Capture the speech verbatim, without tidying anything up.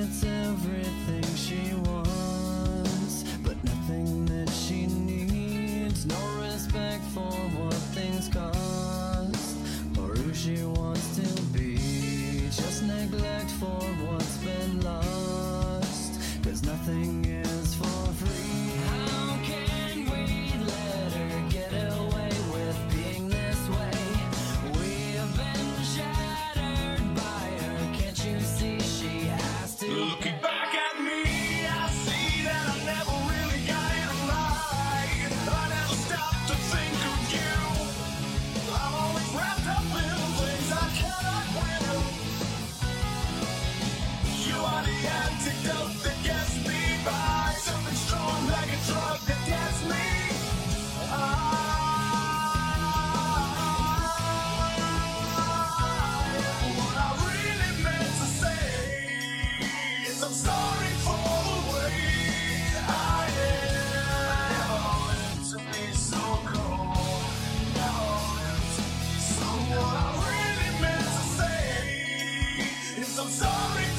gets everything she wants, but nothing that she needs. No respect for what things cost, or who she wants to be. Just neglect for what's been lost, 'cause nothing is for free. How can we let her get away with being this way? We have been shattered by her. Can't you see she has to? Looking back at me, I see that I never really got it right. I never stopped to think of you. I'm always wrapped up in things I cannot win. You are the antidote that gets me by, something strong like a drug that gets me. I, what I really meant to say is I'm sorry for the way I am. Never meant to be so cold. Never meant to be so. What I really meant to say is I'm sorry.